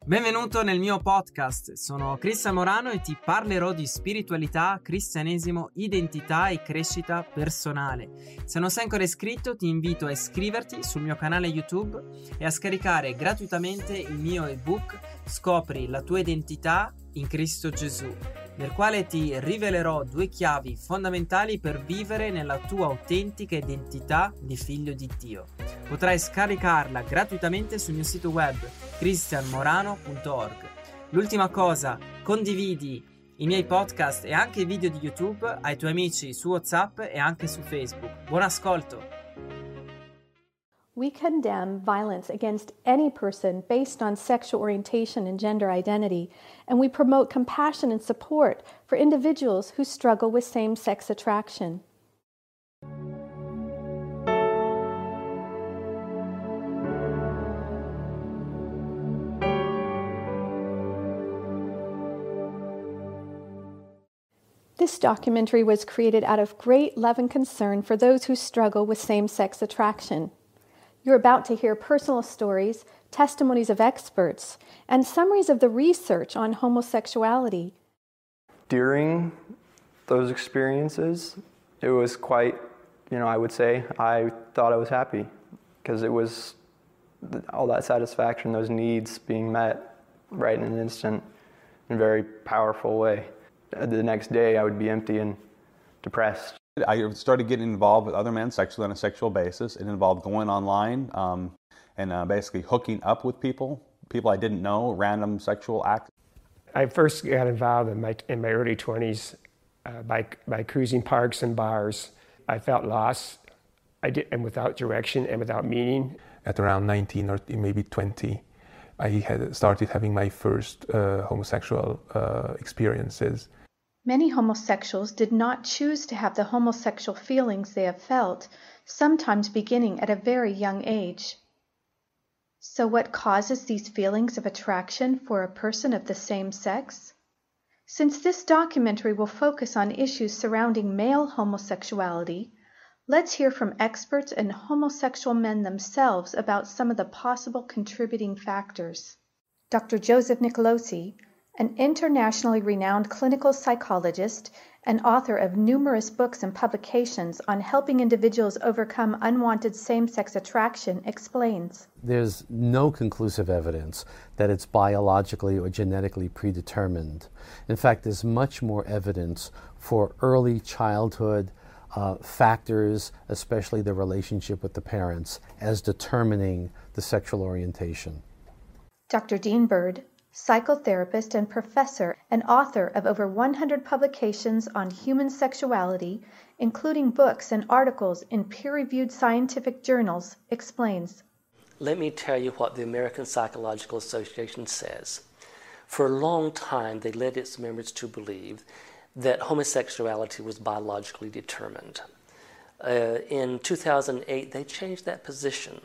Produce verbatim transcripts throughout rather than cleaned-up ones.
Benvenuto nel mio podcast, sono Cristian Morano e ti parlerò di spiritualità, cristianesimo, identità e crescita personale. Se non sei ancora iscritto ti invito a iscriverti sul mio canale YouTube e a scaricare gratuitamente il mio ebook Scopri la tua identità in Cristo Gesù, nel quale ti rivelerò due chiavi fondamentali per vivere nella tua autentica identità di figlio di Dio. Potrai scaricarla gratuitamente sul mio sito web cristian morano punto org. L'ultima cosa, condividi i miei podcast e anche i video di YouTube ai tuoi amici su WhatsApp e anche su Facebook. Buon ascolto! We condemn violence against any person based on sexual orientation and gender identity, and we promote compassion and support for individuals who struggle with same-sex attraction. This documentary was created out of great love and concern for those who struggle with same-sex attraction. You're about to hear personal stories, testimonies of experts, and summaries of the research on homosexuality. During those experiences, it was quite, you know, I would say, I thought I was happy because it was all that satisfaction, those needs being met right in an instant in a very powerful way. The next day I would be empty and depressed. I started getting involved with other men sexually on a sexual basis. It involved going online um, and uh, basically hooking up with people, people I didn't know, random sexual acts. I first got involved in my, in my early twenties uh, by, by cruising parks and bars. I felt lost I did, and without direction and without meaning. At around nineteen or maybe twenty, I had started having my first uh, homosexual uh, experiences. Many homosexuals did not choose to have the homosexual feelings they have felt, sometimes beginning at a very young age. So what causes these feelings of attraction for a person of the same sex? Since this documentary will focus on issues surrounding male homosexuality, let's hear from experts and homosexual men themselves about some of the possible contributing factors. Doctor Joseph Nicolosi, an internationally renowned clinical psychologist and author of numerous books and publications on helping individuals overcome unwanted same-sex attraction, explains. There's no conclusive evidence that it's biologically or genetically predetermined. In fact, there's much more evidence for early childhood uh, factors, especially the relationship with the parents, as determining the sexual orientation. Doctor Dean Bird, psychotherapist and professor and author of over one hundred publications on human sexuality, including books and articles in peer-reviewed scientific journals, explains. Let me tell you what the American Psychological Association says. For a long time, they led its members to believe that homosexuality was biologically determined. Uh, in two thousand eight, they changed that position.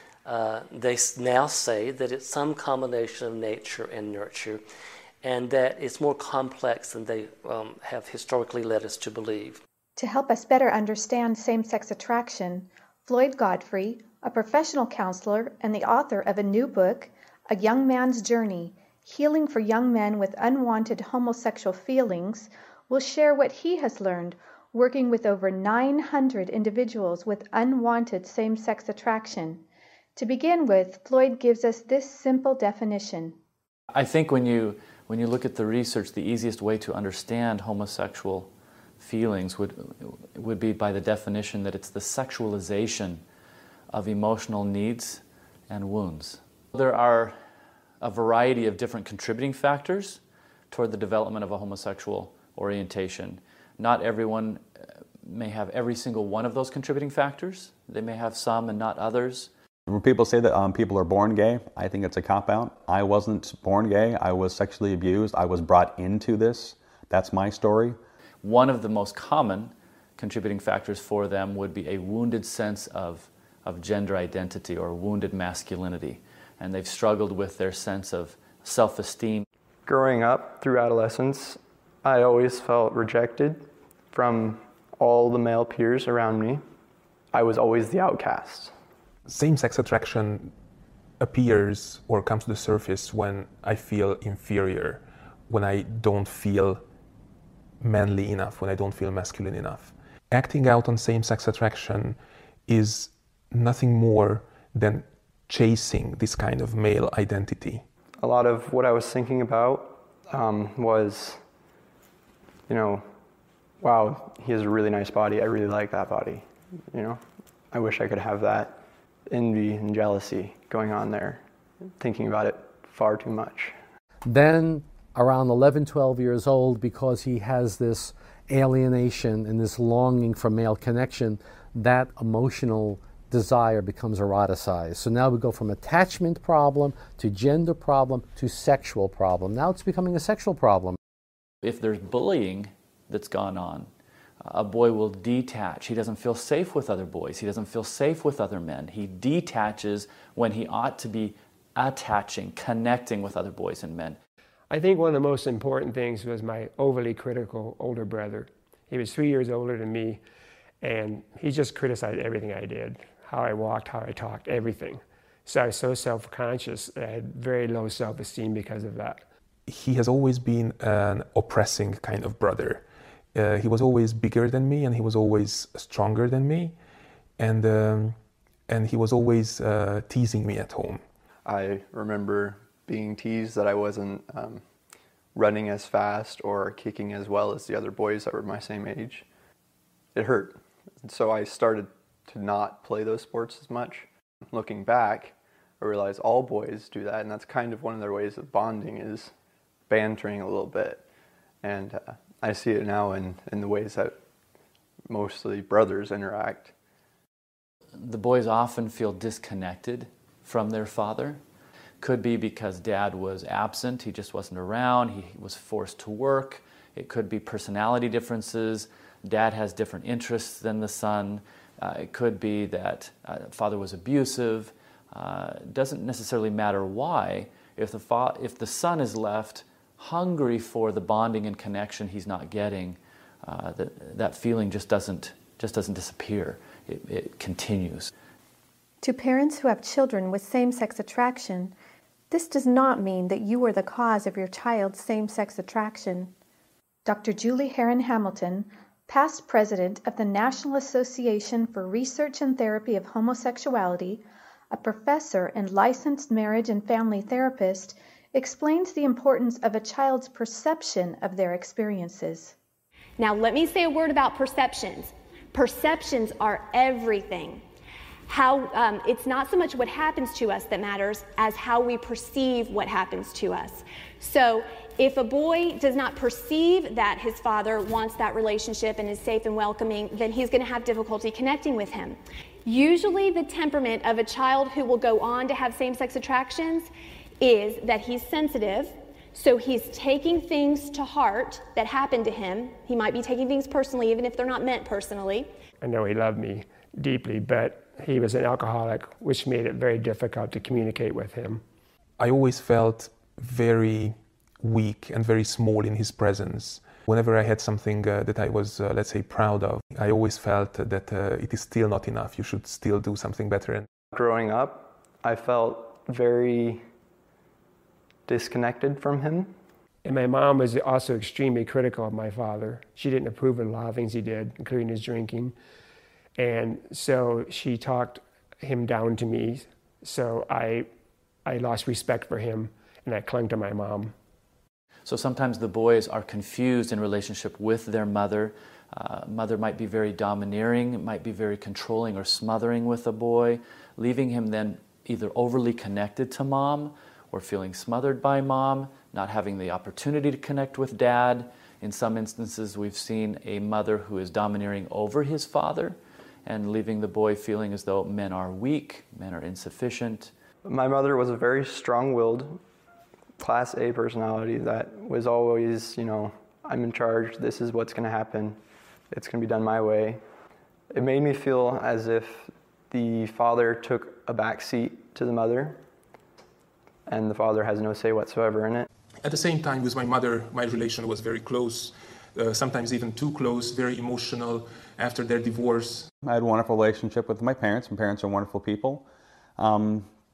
Uh, they now say that it's some combination of nature and nurture, and that it's more complex than they um, have historically led us to believe. To help us better understand same-sex attraction, Floyd Godfrey, a professional counselor and the author of a new book, A Young Man's Journey, Healing for Young Men with Unwanted Homosexual Feelings, will share what he has learned working with over nine hundred individuals with unwanted same-sex attraction. To begin with, Floyd gives us this simple definition. I think when you, when you look at the research, the easiest way to understand homosexual feelings would, would be by the definition that it's the sexualization of emotional needs and wounds. There are a variety of different contributing factors toward the development of a homosexual orientation. Not everyone may have every single one of those contributing factors. They may have some and not others. When people say that um, people are born gay, I think it's a cop-out. I wasn't born gay. I was sexually abused. I was brought into this. That's my story. One of the most common contributing factors for them would be a wounded sense of, of gender identity or wounded masculinity. And they've struggled with their sense of self-esteem. Growing up through adolescence, I always felt rejected from all the male peers around me. I was always the outcast. Same-sex attraction appears or comes to the surface when I feel inferior, when I don't feel manly enough, when I don't feel masculine enough. Acting out on same-sex attraction is nothing more than chasing this kind of male identity. A lot of what I was thinking about um, was, you know, wow, he has a really nice body. I really like that body. You know, I wish I could have that. Envy and jealousy going on there, thinking about it far too much. Then around eleven, twelve years old, because he has this alienation and this longing for male connection, that emotional desire becomes eroticized. So now we go from attachment problem to gender problem to sexual problem. Now it's becoming a sexual problem. If there's bullying that's gone on, a boy will detach. He doesn't feel safe with other boys. He doesn't feel safe with other men. He detaches when he ought to be attaching, connecting with other boys and men. I think one of the most important things was my overly critical older brother. He was three years older than me, and he just criticized everything I did, how I walked, how I talked, everything. So I was so self-conscious, I had very low self-esteem because of that. He has always been an oppressing kind of brother. Uh, he was always bigger than me, and he was always stronger than me, and um, and he was always uh, teasing me at home. I remember being teased that I wasn't um, running as fast or kicking as well as the other boys that were my same age. It hurt. So I started to not play those sports as much. Looking back, I realized all boys do that, and that's kind of one of their ways of bonding, is bantering a little bit. And uh, I see it now in, in the ways that mostly brothers interact. The boys often feel disconnected from their father. Could be because dad was absent, he just wasn't around, he was forced to work. It could be personality differences. Dad has different interests than the son. Uh, it could be that uh, father was abusive. Uh, doesn't necessarily matter why. If the, fa- if the son is left hungry for the bonding and connection he's not getting, uh, that, that feeling just doesn't, just doesn't disappear. It, it continues. To parents who have children with same-sex attraction, this does not mean that you are the cause of your child's same-sex attraction. Doctor Julie Heron Hamilton, past president of the National Association for Research and Therapy of Homosexuality, a professor and licensed marriage and family therapist, explains the importance of a child's perception of their experiences. Now, let me say a word about perceptions. Perceptions are everything. How um, it's not so much what happens to us that matters as how we perceive what happens to us. So if a boy does not perceive that his father wants that relationship and is safe and welcoming, then he's going to have difficulty connecting with him. Usually the temperament of a child who will go on to have same-sex attractions is that he's sensitive, so he's taking things to heart that happened to him. He might be taking things personally, even if they're not meant personally. I know he loved me deeply, but he was an alcoholic, which made it very difficult to communicate with him. I always felt very weak and very small in his presence. Whenever I had something uh, that I was, uh, let's say, proud of, I always felt that uh, it is still not enough. You should still do something better. And growing up, I felt very disconnected from him. And my mom was also extremely critical of my father. She didn't approve of a lot of things he did, including his drinking. And so she talked him down to me. So I, I lost respect for him, and I clung to my mom. So sometimes the boys are confused in relationship with their mother. Uh, mother might be very domineering, might be very controlling or smothering with the boy, leaving him then either overly connected to mom or feeling smothered by mom, not having the opportunity to connect with dad. In some instances, we've seen a mother who is domineering over his father and leaving the boy feeling as though men are weak, men are insufficient. My mother was a very strong-willed, class A personality that was always, you know, I'm in charge, this is what's going to happen, it's going to be done my way. It made me feel as if the father took a back seat to the mother, and the father has no say whatsoever in it. at the same time, with my mother, my relation was very close, uh, sometimes even too close, very emotional after their divorce. I had a wonderful relationship with my parents. My parents are wonderful people. Um,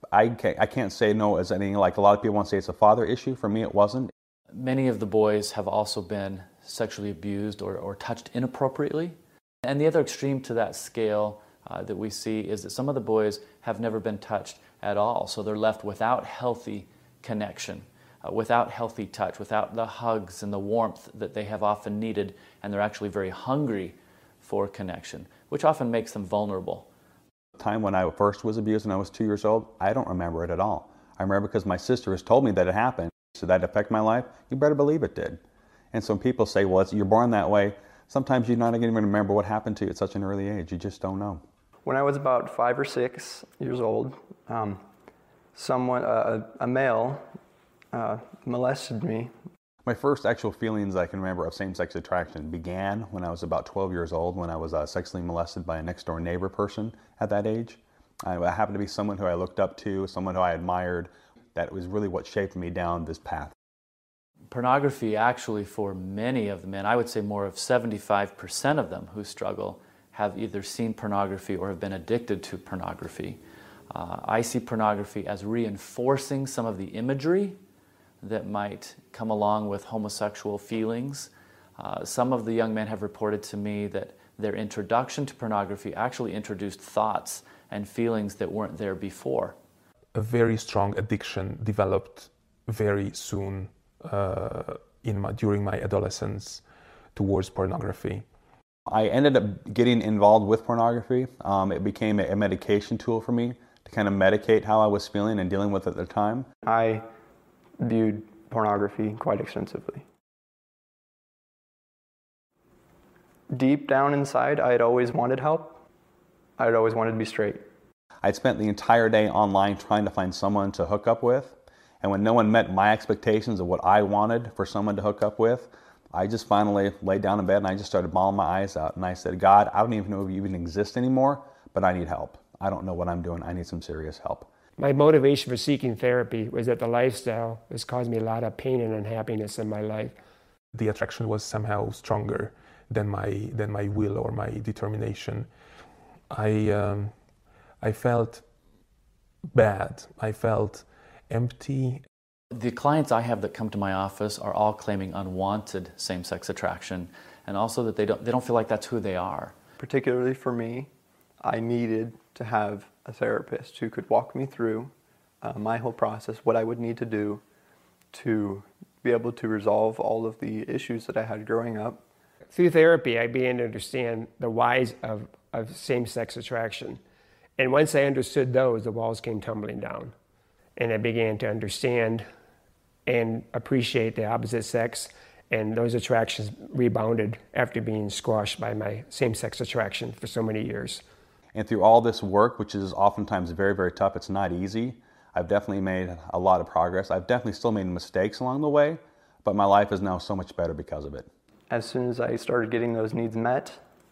I can't, I can't say no as anything like a lot of people want to say it's a father issue. For me, it wasn't. Many of the boys have also been sexually abused or, or touched inappropriately. And the other extreme to that scale uh, that we see is that some of the boys have never been touched at all. So they're left without healthy connection, uh, without healthy touch, without the hugs and the warmth that they have often needed, and they're actually very hungry for connection, which often makes them vulnerable. The time when I first was abused when I was two years old, I don't remember it at all. I remember because my sister has told me that it happened. So that affect my life? You better believe it did. And so when people say, well, it's, you're born that way, sometimes you're not going to even remember what happened to you at such an early age. You just don't know. When I was about five or six years old, um, someone, uh, a male, uh, molested me. My first actual feelings I can remember of same-sex attraction began when I was about twelve years old, when I was uh, sexually molested by a next-door neighbor person at that age. I happened to be someone who I looked up to, someone who I admired. That was really what shaped me down this path. Pornography actually, for many of the men, I would say more of seventy-five percent of them who struggle, have either seen pornography or have been addicted to pornography. Uh, I see pornography as reinforcing some of the imagery that might come along with homosexual feelings. Uh, some of the young men have reported to me that their introduction to pornography actually introduced thoughts and feelings that weren't there before. A very strong addiction developed very soon uh, in my, during my adolescence towards pornography. I ended up getting involved with pornography. Um, it became a, a medication tool for me to kind of medicate how I was feeling and dealing with it at the time. I viewed pornography quite extensively. Deep down inside, I had always wanted help. I had always wanted to be straight. I'd spent the entire day online trying to find someone to hook up with, and when no one met my expectations of what I wanted for someone to hook up with, I just finally laid down in bed and I just started bawling my eyes out, and I said, God, I don't even know if you even exist anymore, but I need help. I don't know what I'm doing. I need some serious help. My motivation for seeking therapy was that the lifestyle has caused me a lot of pain and unhappiness in my life. The attraction was somehow stronger than my, than my will or my determination. I... Um, I felt bad. I felt empty. The clients I have that come to my office are all claiming unwanted same-sex attraction, and also that they don't, they don't feel like that's who they are. Particularly for me, I needed to have a therapist who could walk me through uh, my whole process, what I would need to do to be able to resolve all of the issues that I had growing up. Through therapy, I began to understand the whys of, of same-sex attraction. And once I understood those, the walls came tumbling down. And I began to understand and appreciate the opposite sex, and those attractions rebounded after being squashed by my same-sex attraction for so many years. And through all this work, which is oftentimes very, very tough, it's not easy, I've definitely made a lot of progress. I've definitely still made mistakes along the way, but my life is now so much better because of it. As soon as I started getting those needs met,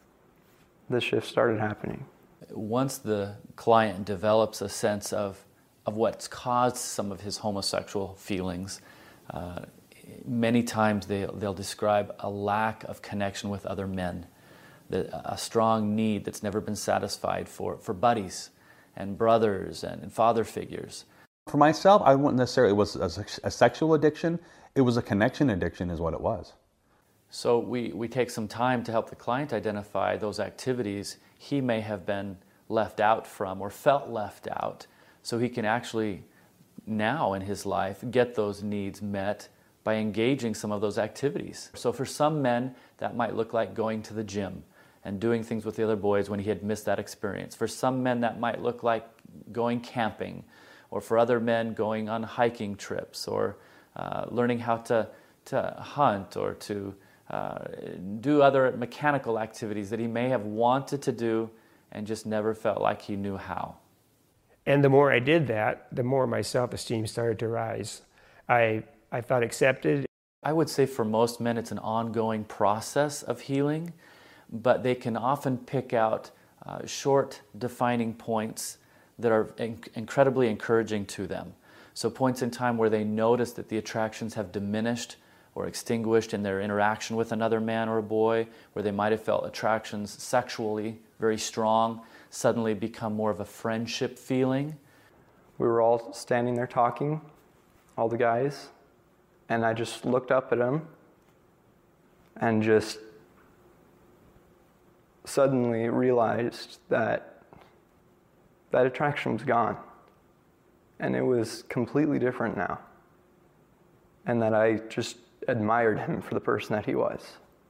the shift started happening. Once the client develops a sense of, of what's caused some of his homosexual feelings, uh, many times they, they'll describe a lack of connection with other men, the, a strong need that's never been satisfied for, for buddies and brothers and, and father figures. For myself, I wouldn't necessarily, it was a, a sexual addiction, it was a connection addiction is what it was. So we, we take some time to help the client identify those activities he may have been left out from or felt left out, so he can actually now in his life get those needs met by engaging some of those activities. So for some men, that might look like going to the gym and doing things with the other boys when he had missed that experience. For some men, that might look like going camping, or for other men, going on hiking trips, or uh, learning how to, to hunt, or to Uh, do other mechanical activities that he may have wanted to do and just never felt like he knew how. And the more I did that, the more my self-esteem started to rise. I, I felt accepted. I would say for most men it's an ongoing process of healing, but they can often pick out uh, short defining points that are inc- incredibly encouraging to them. So points in time where they notice that the attractions have diminished or extinguished in their interaction with another man or a boy, where they might have felt attractions sexually very strong, suddenly become more of a friendship feeling. we were all standing there talking, all the guys, and I just looked up at him and just suddenly realized that that attraction was gone. And it was completely different now. And that I just admired him for the person that he was.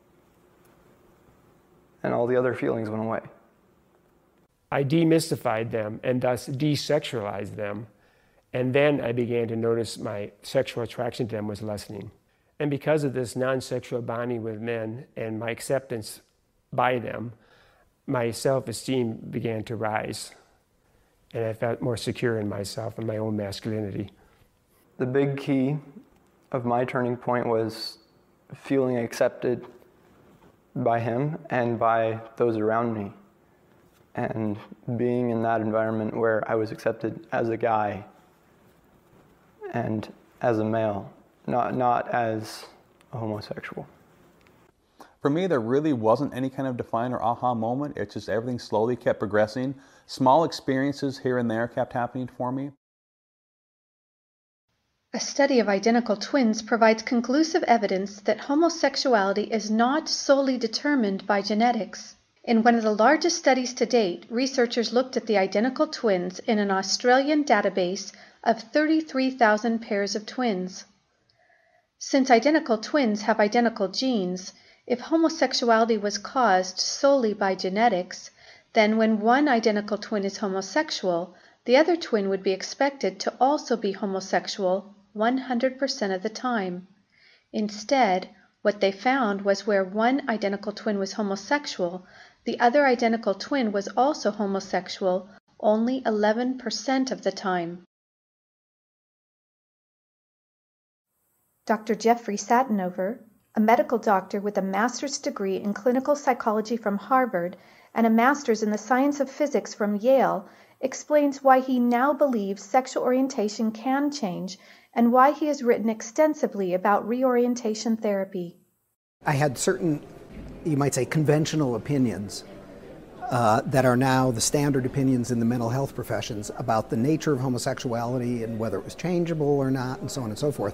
And all the other feelings went away. I demystified them and thus desexualized them. And then I began to notice my sexual attraction to them was lessening. And because of this non-sexual bonding with men and my acceptance by them, my self-esteem began to rise. And I felt more secure in myself and my own masculinity. The big key of my turning point was feeling accepted by him and by those around me. And being in that environment where I was accepted as a guy and as a male, not, not as a homosexual. For me, there really wasn't any kind of define or aha moment. It's just everything slowly kept progressing. Small experiences here and there kept happening for me. A study of identical twins provides conclusive evidence that homosexuality is not solely determined by genetics. In one of the largest studies to date, researchers looked at the identical twins in an Australian database of thirty-three thousand pairs of twins. Since identical twins have identical genes, if homosexuality was caused solely by genetics, then when one identical twin is homosexual, the other twin would be expected to also be homosexual one hundred percent of the time. Instead, what they found was where one identical twin was homosexual, the other identical twin was also homosexual only eleven percent of the time. Doctor Jeffrey Satinover, a medical doctor with a master's degree in clinical psychology from Harvard and a master's in the science of physics from Yale, explains why he now believes sexual orientation can change and why he has written extensively about reorientation therapy. I had certain, you might say, conventional opinions uh, that are now the standard opinions in the mental health professions about the nature of homosexuality and whether it was changeable or not, and so on and so forth.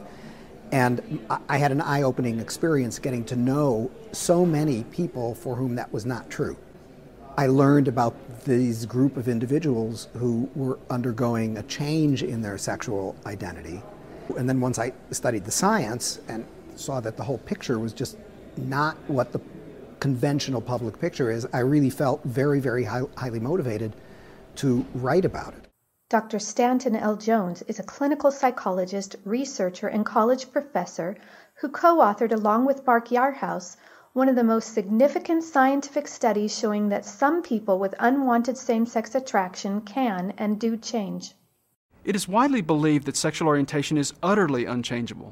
And I had an eye-opening experience getting to know so many people for whom that was not true. I learned about these group of individuals who were undergoing a change in their sexual identity. And then once I studied the science and saw that the whole picture was just not what the conventional public picture is, I really felt very, very high, highly motivated to write about it. Doctor Stanton L. Jones is a clinical psychologist, researcher, and college professor who co-authored, along with Mark Yarhouse, one of the most significant scientific studies showing that some people with unwanted same-sex attraction can and do change. It is widely believed that sexual orientation is utterly unchangeable.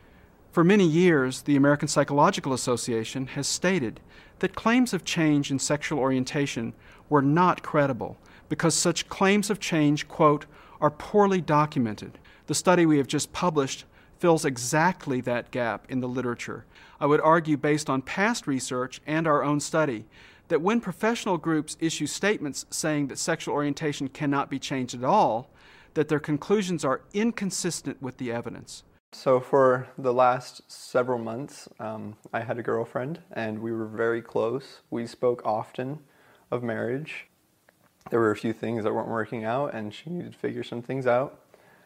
For many years, the American Psychological Association has stated that claims of change in sexual orientation were not credible because such claims of change, quote, are poorly documented. The study we have just published fills exactly that gap in the literature. I would argue, based on past research and our own study, that when professional groups issue statements saying that sexual orientation cannot be changed at all, that their conclusions are inconsistent with the evidence. So for the last several months, um, I had a girlfriend and we were very close. We spoke often of marriage. There were a few things that weren't working out and she needed to figure some things out.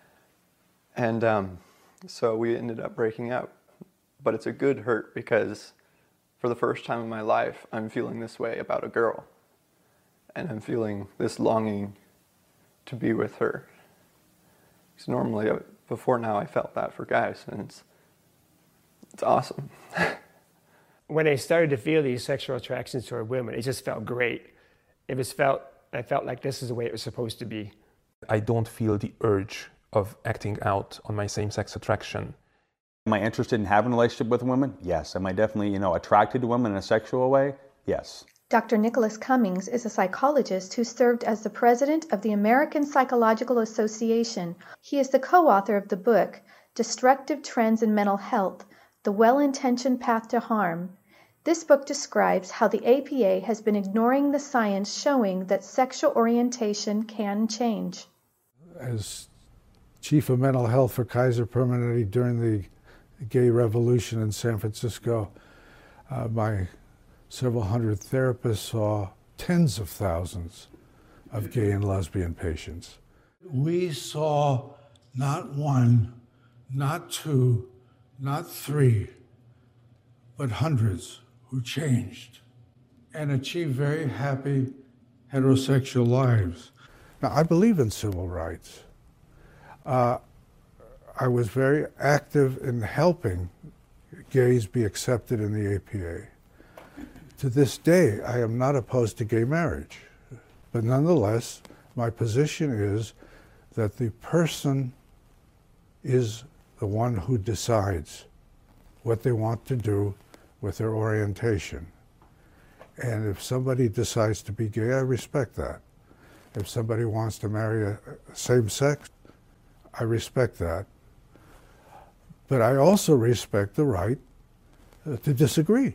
And um, so we ended up breaking up. But it's a good hurt because for the first time in my life, I'm feeling this way about a girl. And I'm feeling this longing to be with her. Because normally, before now, I felt that for guys, and it's, it's awesome. When I started to feel these sexual attractions toward women, it just felt great. It was felt, I felt like this is the way it was supposed to be. I don't feel the urge of acting out on my same-sex attraction. Am I interested in having a relationship with women? Yes. Am I definitely, you know, attracted to women in a sexual way? Yes. Doctor Nicholas Cummings is a psychologist who served as the president of the American Psychological Association. He is the co-author of the book, Destructive Trends in Mental Health, The Well-Intentioned Path to Harm. This book describes how the A P A has been ignoring the science showing that sexual orientation can change. As chief of mental health for Kaiser Permanente during the gay revolution in San Francisco. Uh, my several hundred therapists saw tens of thousands of gay and lesbian patients. We saw not one, not two, not three, but hundreds who changed and achieved very happy heterosexual lives. Now, I believe in civil rights. Uh, I was very active in helping gays be accepted in the A P A. To this day, I am not opposed to gay marriage, but nonetheless, my position is that the person is the one who decides what they want to do with their orientation. And if somebody decides to be gay, I respect that. If somebody wants to marry a same sex, I respect that. But I also respect the right uh, to disagree.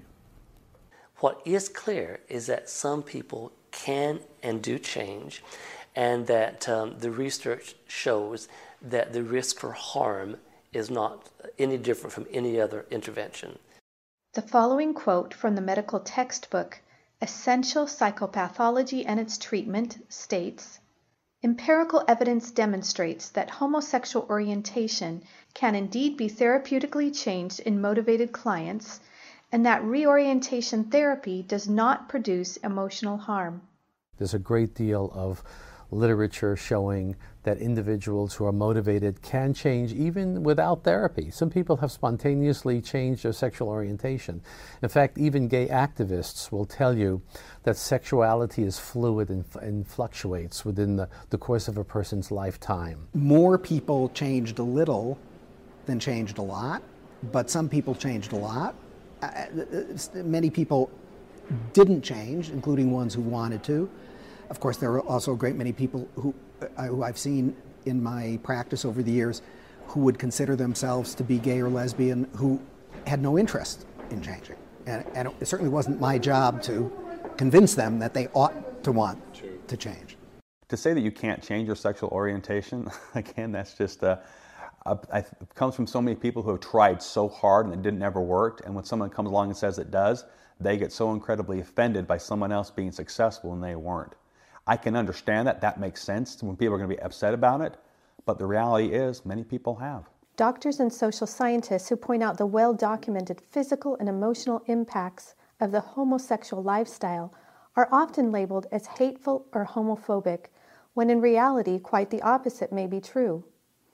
What is clear is that some people can and do change, and that um, the research shows that the risk for harm is not any different from any other intervention. The following quote from the medical textbook, Essential Psychopathology and Its Treatment, states, "Empirical evidence demonstrates that homosexual orientation can indeed be therapeutically changed in motivated clients, and that reorientation therapy does not produce emotional harm." There's a great deal of literature showing that individuals who are motivated can change even without therapy. Some people have spontaneously changed their sexual orientation. In fact, even gay activists will tell you that sexuality is fluid and, and fluctuates within the, the course of a person's lifetime. More people changed a little than changed a lot, but some people changed a lot. Uh, many people didn't change, including ones who wanted to. Of course, there are also a great many people who, uh, who I've seen in my practice over the years who would consider themselves to be gay or lesbian who had no interest in changing. And, and it certainly wasn't my job to convince them that they ought to want to change. To say that you can't change your sexual orientation, again, that's just uh, uh, it comes from so many people who have tried so hard and it didn't ever work. And when someone comes along and says it does, they get so incredibly offended by someone else being successful and they weren't. I can understand that. That makes sense when people are going to be upset about it. But the reality is many people have. Doctors and social scientists who point out the well-documented physical and emotional impacts of the homosexual lifestyle are often labeled as hateful or homophobic, when in reality quite the opposite may be true.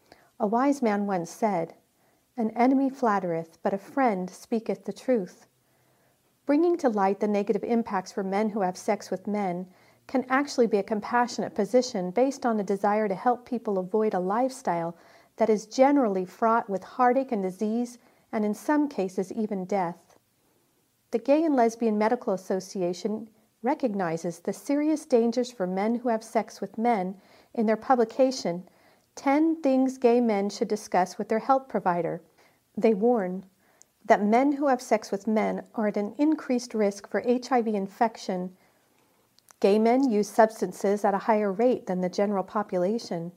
A wise man once said, "An enemy flattereth, but a friend speaketh the truth." Bringing to light the negative impacts for men who have sex with men can actually be a compassionate position based on a desire to help people avoid a lifestyle that is generally fraught with heartache and disease, and in some cases even death. The Gay and Lesbian Medical Association recognizes the serious dangers for men who have sex with men in their publication, ten Things Gay Men Should Discuss with Their Health Provider. They warn that men who have sex with men are at an increased risk for H I V infection. Gay men use substances at a higher rate than the general population.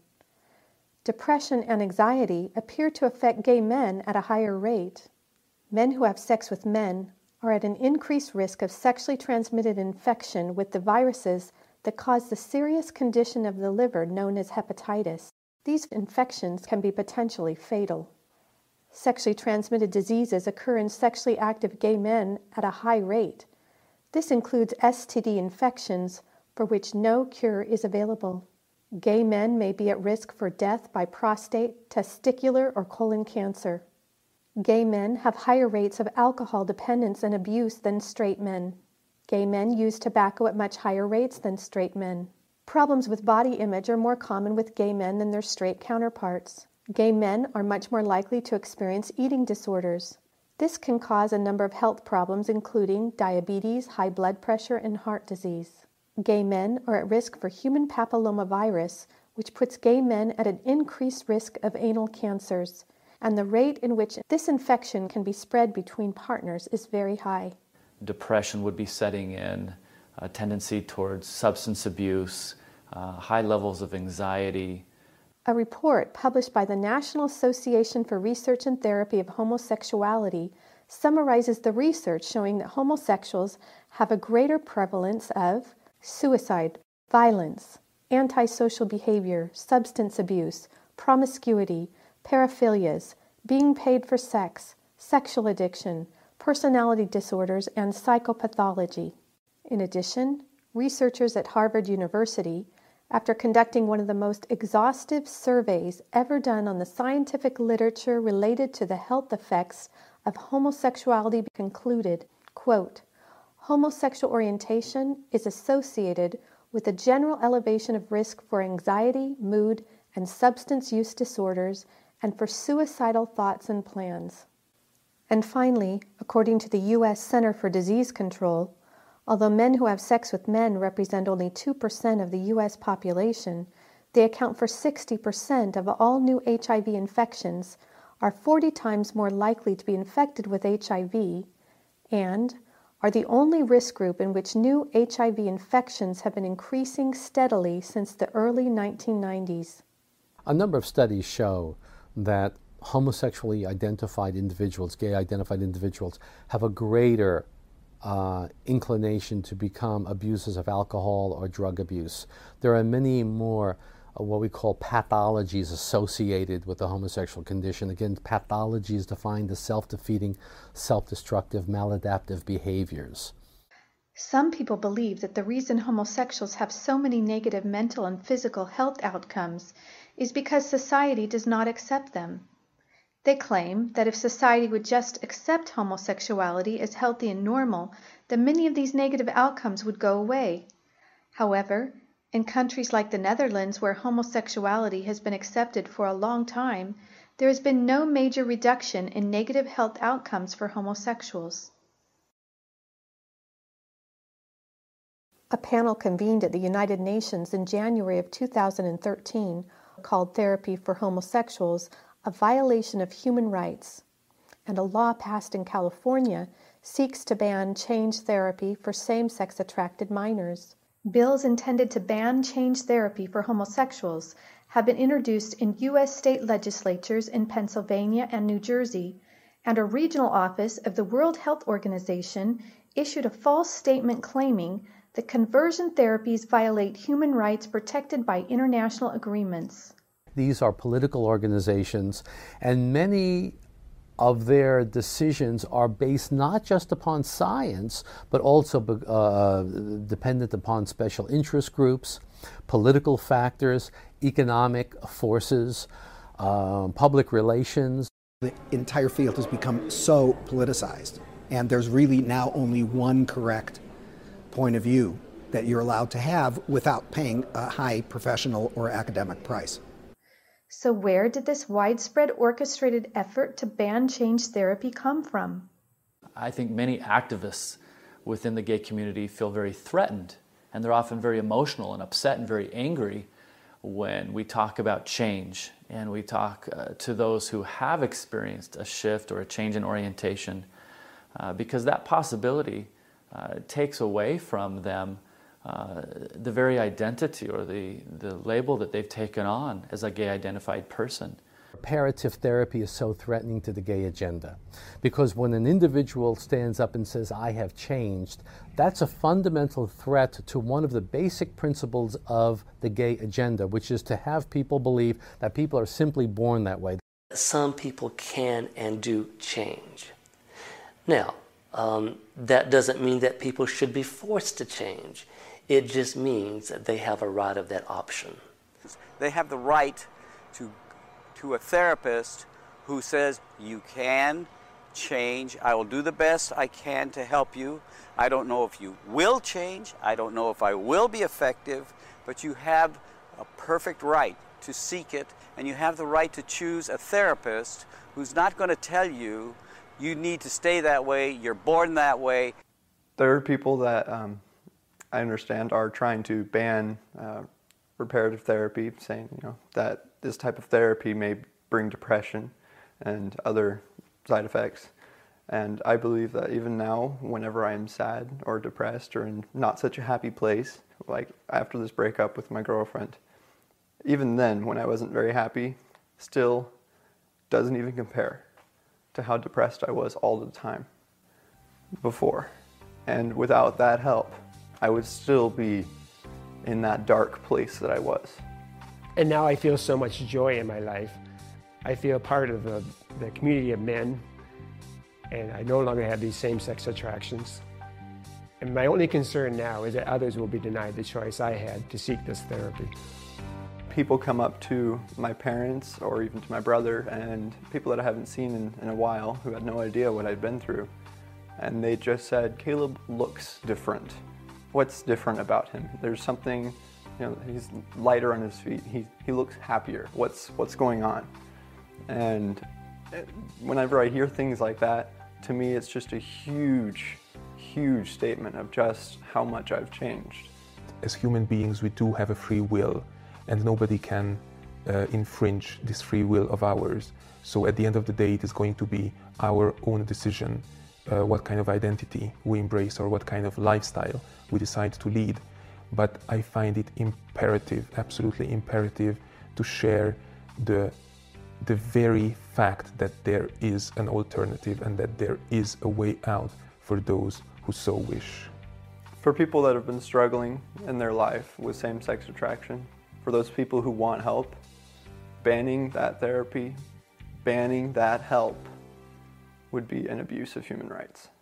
Depression and anxiety appear to affect gay men at a higher rate. Men who have sex with men are at an increased risk of sexually transmitted infection with the viruses that cause the serious condition of the liver known as hepatitis. These infections can be potentially fatal. Sexually transmitted diseases occur in sexually active gay men at a high rate. This includes S T D infections for which no cure is available. Gay men may be at risk for death by prostate, testicular, or colon cancer. Gay men have higher rates of alcohol dependence and abuse than straight men. Gay men use tobacco at much higher rates than straight men. Problems with body image are more common with gay men than their straight counterparts. Gay men are much more likely to experience eating disorders. This can cause a number of health problems, including diabetes, high blood pressure, and heart disease. Gay men are at risk for human papillomavirus, which puts gay men at an increased risk of anal cancers, and the rate in which this infection can be spread between partners is very high. Depression would be setting in, a tendency towards substance abuse, uh, high levels of anxiety, A report published by the National Association for Research and Therapy of Homosexuality summarizes the research showing that homosexuals have a greater prevalence of suicide, violence, antisocial behavior, substance abuse, promiscuity, paraphilias, being paid for sex, sexual addiction, personality disorders, and psychopathology. In addition, researchers at Harvard University, after conducting one of the most exhaustive surveys ever done on the scientific literature related to the health effects of homosexuality, concluded, quote, homosexual orientation is associated with a general elevation of risk for anxiety, mood, and substance use disorders, and for suicidal thoughts and plans. And finally, according to the U S Center for Disease Control, although men who have sex with men represent only two percent of the U S population, they account for sixty percent of all new H I V infections, are forty times more likely to be infected with H I V, and are the only risk group in which new H I V infections have been increasing steadily since the early nineteen nineties. A number of studies show that homosexually identified individuals, gay identified individuals, have a greater uh, inclination to become abusers of alcohol or drug abuse. There are many more uh, what we call pathologies associated with the homosexual condition. Again, pathology is defined as self-defeating, self-destructive, maladaptive behaviors. Some people believe that the reason homosexuals have so many negative mental and physical health outcomes is because society does not accept them. They claim that if society would just accept homosexuality as healthy and normal, then many of these negative outcomes would go away. However, in countries like the Netherlands, where homosexuality has been accepted for a long time, there has been no major reduction in negative health outcomes for homosexuals. A panel convened at the United Nations in January of two thousand thirteen called Therapy for Homosexuals a violation of human rights, and a law passed in California seeks to ban change therapy for same-sex attracted minors. Bills intended to ban change therapy for homosexuals have been introduced in U S state legislatures in Pennsylvania and New Jersey, and a regional office of the World Health Organization issued a false statement claiming that conversion therapies violate human rights protected by international agreements. These are political organizations, and many of their decisions are based not just upon science, but also uh, dependent upon special interest groups, political factors, economic forces, uh, public relations. The entire field has become so politicized, and there's really now only one correct point of view that you're allowed to have without paying a high professional or academic price. So where did this widespread orchestrated effort to ban change therapy come from? I think many activists within the gay community feel very threatened, and they're often very emotional and upset and very angry when we talk about change and we talk uh, to those who have experienced a shift or a change in orientation, uh, because that possibility uh, takes away from them Uh, the very identity or the, the label that they've taken on as a gay identified person. Reparative therapy is so threatening to the gay agenda because when an individual stands up and says, I have changed, that's a fundamental threat to one of the basic principles of the gay agenda, which is to have people believe that people are simply born that way. Some people can and do change. Now, um, that doesn't mean that people should be forced to change. It just means that they have a right of that option. They have the right to, to a therapist who says, you can change. I will do the best I can to help you. I don't know if you will change. I don't know if I will be effective, but you have a perfect right to seek it, and you have the right to choose a therapist who's not going to tell you, you need to stay that way, you're born that way. There are people that um, I understand are trying to ban uh, reparative therapy, saying you know that this type of therapy may bring depression and other side effects. And I believe that even now, whenever I am sad or depressed or in not such a happy place, like after this breakup with my girlfriend, even then, when I wasn't very happy, still doesn't even compare to how depressed I was all the time before. And without that help, I would still be in that dark place that I was. And now I feel so much joy in my life. I feel part of the, the community of men, and I no longer have these same-sex attractions. And my only concern now is that others will be denied the choice I had to seek this therapy. People come up to my parents or even to my brother and people that I haven't seen in, in a while who had no idea what I'd been through. And they just said, Caleb looks different. What's different about him? There's something, you know, he's lighter on his feet. He, he looks happier. What's, what's going on? And whenever I hear things like that, to me it's just a huge, huge statement of just how much I've changed. As human beings, we do have a free will, and nobody can uh, infringe this free will of ours. So at the end of the day, it is going to be our own decision uh, what kind of identity we embrace or what kind of lifestyle we decide to lead. But I find it imperative, absolutely imperative, to share the, the very fact that there is an alternative and that there is a way out for those who so wish. For people that have been struggling in their life with same-sex attraction, for those people who want help, banning that therapy, banning that help would be an abuse of human rights.